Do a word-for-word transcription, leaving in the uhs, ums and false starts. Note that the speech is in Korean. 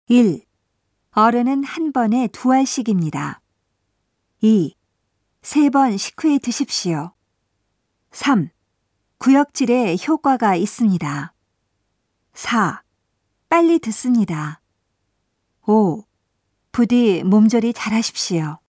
일. 어른은 한 번에 두 알씩입니다. 이. 세 번 식후에 드십시오. 삼. 구역질에 효과가 있습니다. 사. 빨리 듣습니다. 오. 부디 몸조리 잘하십시오.